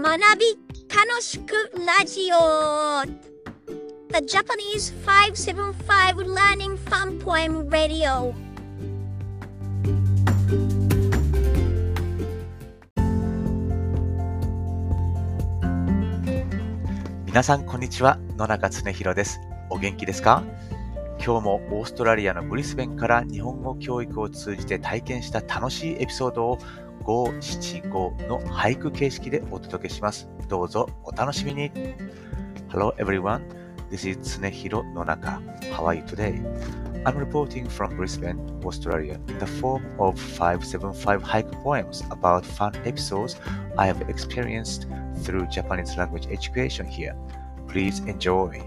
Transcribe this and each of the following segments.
学び楽しくラジオ The Japanese 575 Learning Fun Poem Radio。 皆さんこんにちは、野中恒弘です。お元気ですか？今日もオーストラリアのブリスベンから日本語教育を通じて体験した楽しいエピソードを575の俳句形式でお届けします。どうぞお楽しみに。 Hello everyone, this is Tsunehiro Nonaka. How are you today? I'm reporting from Brisbane, Australia in the form of 575 haiku poems about fun episodes I have experienced through Japanese language education here. Please enjoy.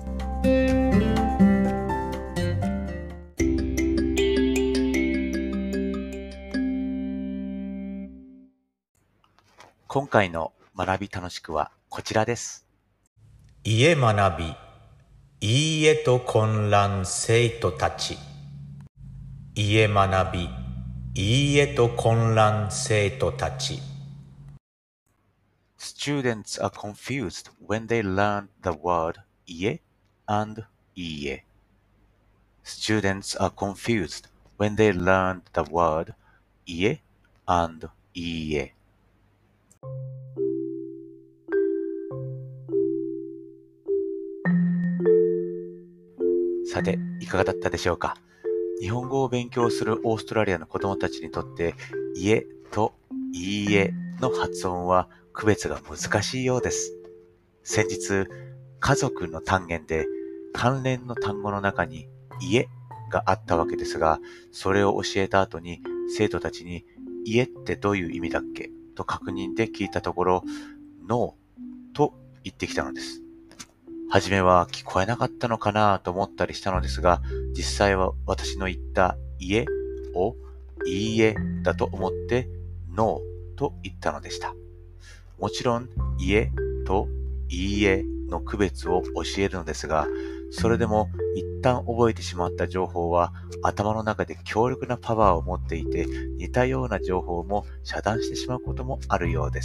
今回の学び楽しくはこちらです。 家学び、いいえと混乱生徒たち。家学び、いいえと混乱生徒たち。 Students are confused when they learn the word 家 and いいえ。Students are confused when they learn the word 家 and いいえ。さて、いかがだったでしょうか？日本語を勉強するオーストラリアの子供たちにとって、家といいえの発音は区別が難しいようです。先日、家族の単元で関連の単語の中に家があったわけですが、それを教えた後に生徒たちに家ってどういう意味だっけと確認で聞いたところ、ノーと言ってきたのです。はじめは聞こえなかったのかなと思ったりしたのですが、実際は私の言った家をいいえだと思ってノーと言ったのでした。もちろん家といいえの区別を教えるのですが、それでも一旦覚えてしまった情報は頭の中で強力なパワーを持っていて、似たような情報も遮断してしまうこともあるようです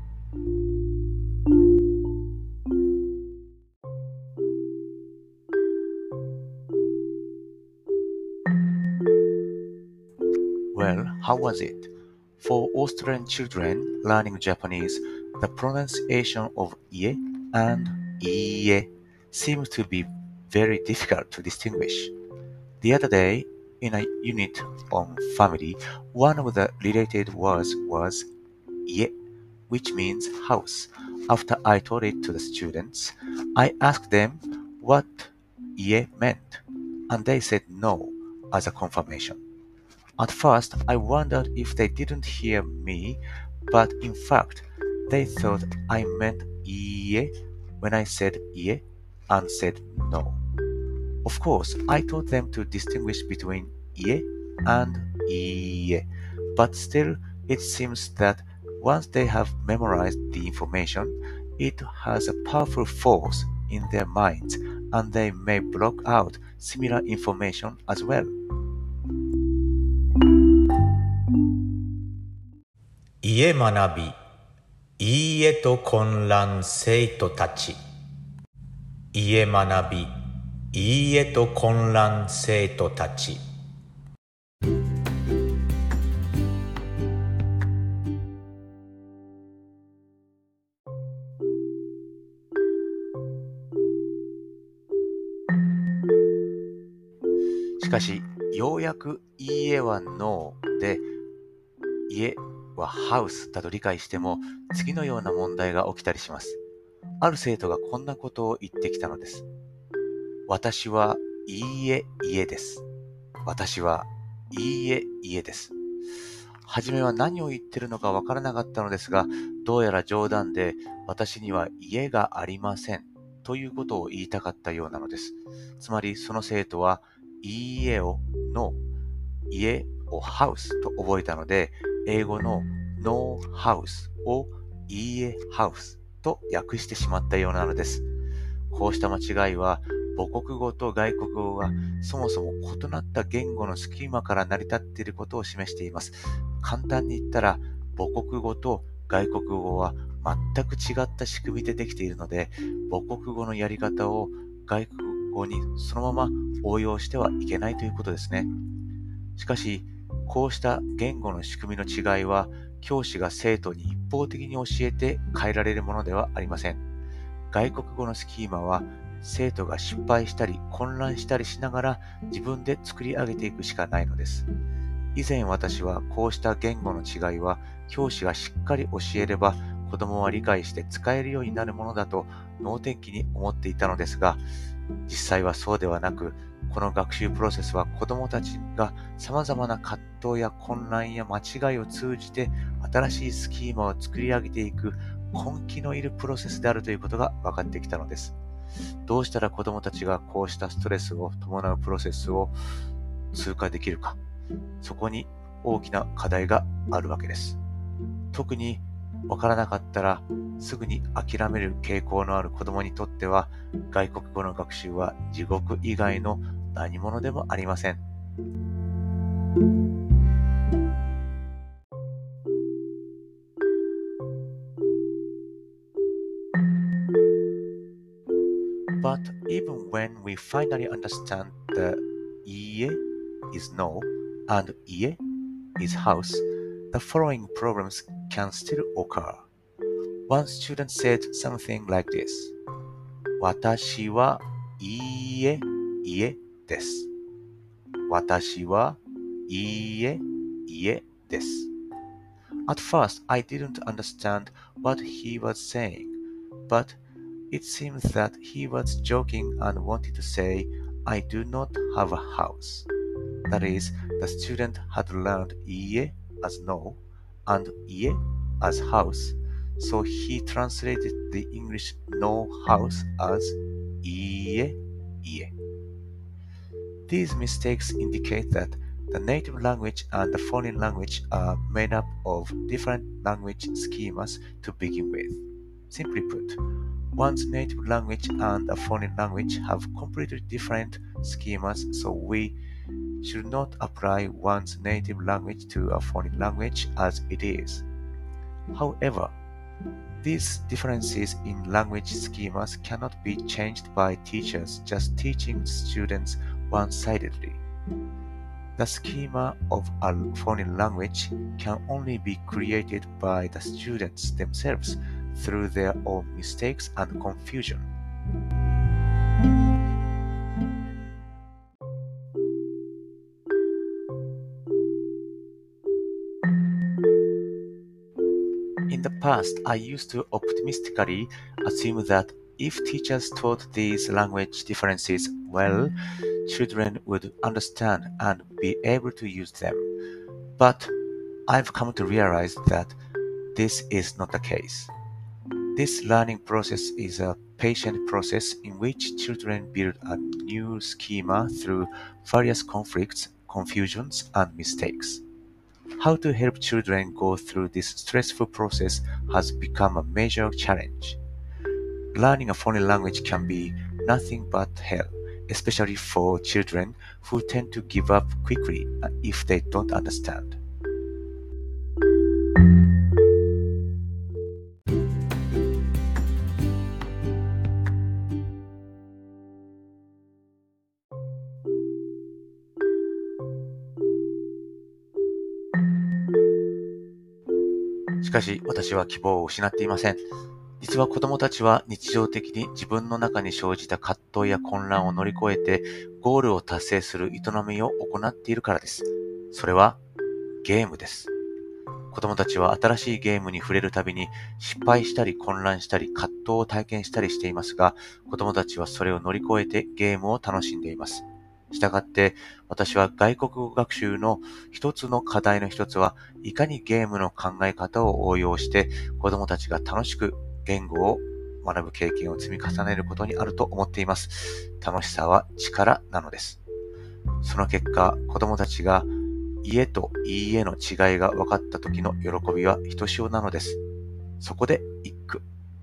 。Well, how was it? For Australian children learning Japanese, the pronunciation of 家 and いいえ seems to be very difficult to distinguish. The other day, in a unit on family, one of the related words was 家, which means house. After I taught it to the students, I asked them what 家 meant, and they said no as a confirmation.At first, I wondered if they didn't hear me, but in fact, they thought I meant いいえ when I said 家 and said no. Of course, I taught them to distinguish between 家 and いいえ, but still, it seems that once they have memorized the information, it has a powerful force in their minds, and they may block out similar information as well. 家学び、いいえと混乱生徒たち。家学び、いいえと混乱生徒たち。 しかし、ようやくいいえはノーで、家はハウスだと理解しても、次のような問題が起きたりします。ある生徒がこんなことを言ってきたのです。私はいいえ家です。私はいいえ家です。はじめは何を言ってるのかわからなかったのですが、どうやら冗談で私には家がありませんということを言いたかったようなのです。つまりその生徒はいいえをノー、家をハウスと覚えたので、英語の No House をいいえハウスと訳してしまったようなのです。こうした間違いは母国語と外国語がそもそも異なった言語のスキーマから成り立っていることを示しています。簡単に言ったら母国語と外国語は全く違った仕組みでできているので、母国語のやり方を外国語にそのまま応用してはいけないということですね。しかし、こうした言語の仕組みの違いは、教師が生徒に一方的に教えて変えられるものではありません。外国語のスキーマは、生徒が失敗したり混乱したりしながら自分で作り上げていくしかないのです。以前私はこうした言語の違いは教師がしっかり教えれば子供は理解して使えるようになるものだと能天気に思っていたのですが、実際はそうではなく、この学習プロセスは子供たちが様々な葛藤や混乱や間違いを通じて新しいスキーマを作り上げていく根気のいるプロセスであるということが分かってきたのです。どうしたら子供たちがこうしたストレスを伴うプロセスを通過できるか、そこに大きな課題があるわけです。特にわからなかったらすぐに諦める傾向のある子供にとっては、外国語の学習は地獄以外の何者でもありません。But even when we finally understand the iie is no and ie is house, the following problems can still occur. One student said something like this: 私はいいえ、家です。私はいいえ、家です。At first, I didn't understand what he was saying, but it seems that he was joking and wanted to say, I do not have a house. That is, the student had learned ie as no and ie as house, so he translated the English no house as ie. These mistakes indicate that the native language and the foreign language are made up of different language schemas to begin with. Simply put, one's native language and a foreign language have completely different schemas, so we should not apply one's native language to a foreign language as it is. However, these differences in language schemas cannot be changed by teachers just teaching students one-sidedly. The schema of a foreign language can only be created by the students themselves through their own mistakes and confusion. In the past, I used to optimistically assume that if teachers taught these language differences well, children would understand and be able to use them. But I've come to realize that this is not the case. This learning process is a patient process in which children build a new schema through various conflicts, confusions, and mistakes. How to help children go through this stressful process has become a major challenge. Learning a foreign language can be nothing but hell, especially for children who tend to give up quickly if they don't understand.「しかし私は希望を失っていません。実は子供たちは日常的に自分の中に生じた葛藤や混乱を乗り越えてゴールを達成する営みを行っているからです。それはゲームです。子供たちは新しいゲームに触れるたびに失敗したり混乱したり葛藤を体験したりしていますが、子供たちはそれを乗り越えてゲームを楽しんでいます。したがって私は外国語学習の一つの課題の一つは、いかにゲームの考え方を応用して子供たちが楽しく言語を学ぶ経験を積み重ねることにあると思っています。楽しさは力なのです。その結果、子供たちが家といいえの違いが分かった時の喜びはひとしおなのです。そこで一句。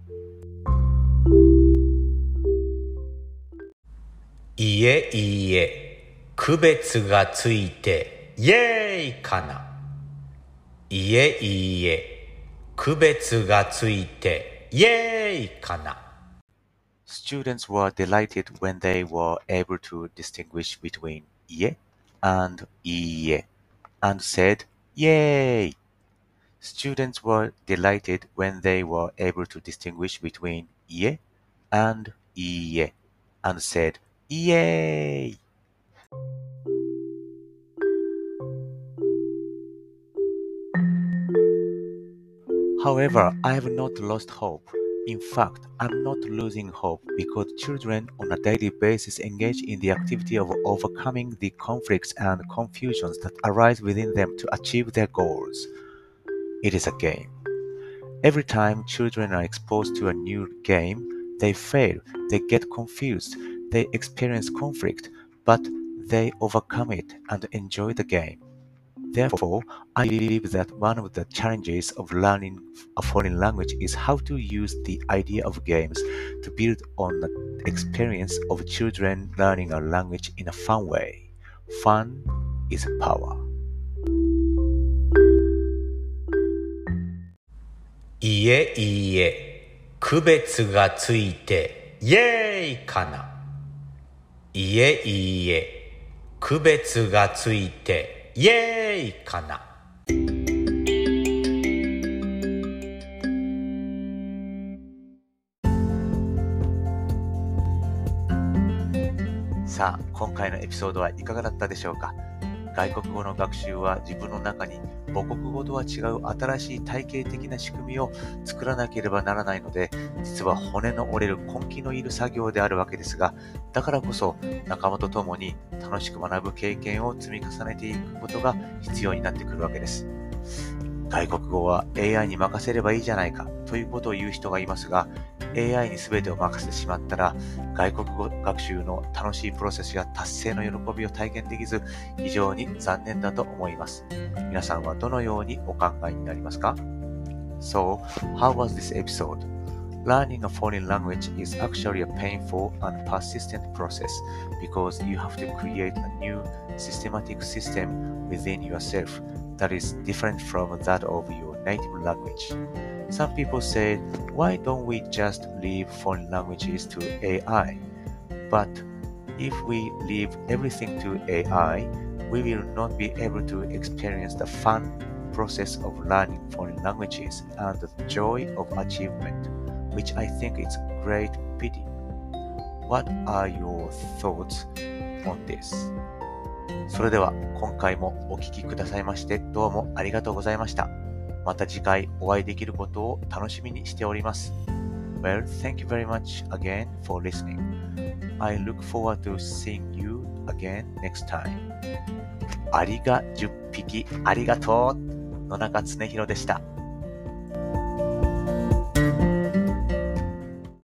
いえいいえ、区別がついてイエーイかな。いえいいえ、 区別がついてイエーイかな。 Students were delighted when they were able to distinguish between 家 and いいえ and said, Yay! Students were delighted when they were able to distinguish between 家 and いいえ and said, Yay! However, I have not lost hope. In fact, I'm not losing hope because children on a daily basis engage in the activity of overcoming the conflicts and confusions that arise within them to achieve their goals. It is a game. Every time children are exposed to a new game, they fail, they get confused, they experience conflict, but they overcome it and enjoy the game. Therefore, I believe that one of the challenges of learning a foreign language is how to use the idea of games to build on the experience of children learning a language in a fun way. Fun is power. いえいいえ、区別がついてイエーイかな。いえいいえ、区別がついてイエーイかな。 さあ、今回のエピソードはいかがだったでしょうか。外国語の学習は自分の中に母国語とは違う新しい体系的な仕組みを作らなければならないので、実は骨の折れる根気のいる作業であるわけですが、だからこそ仲間と共に楽しく学ぶ経験を積み重ねていくことが必要になってくるわけです。外国語は AI に任せればいいじゃないかということを言う人がいますが、AI に全てを任せてしまったら、外国語学習の楽しいプロセスや達成の喜びを体験できず、非常に残念だと思います。皆さんはどのようにお考えになりますか？ So, how was this episode? Learning a foreign language is actually a painful and persistent process because you have to create a new systematic system within yourself that is different from that of your native language. Some people say, why don't we just leave foreign languages to AI? But if we leave everything to AI, we will not be able to experience the fun process of learning foreign languages and the joy of achievement, which I think is a great pity. What are your thoughts on this? それでは今回もお聞きくださいましてどうもありがとうございました。また次回お会いできることを楽しみにしております。Well, thank you very much again for listening. I look forward to seeing you again next time. アリが10匹ありがとう野中恒弘でした。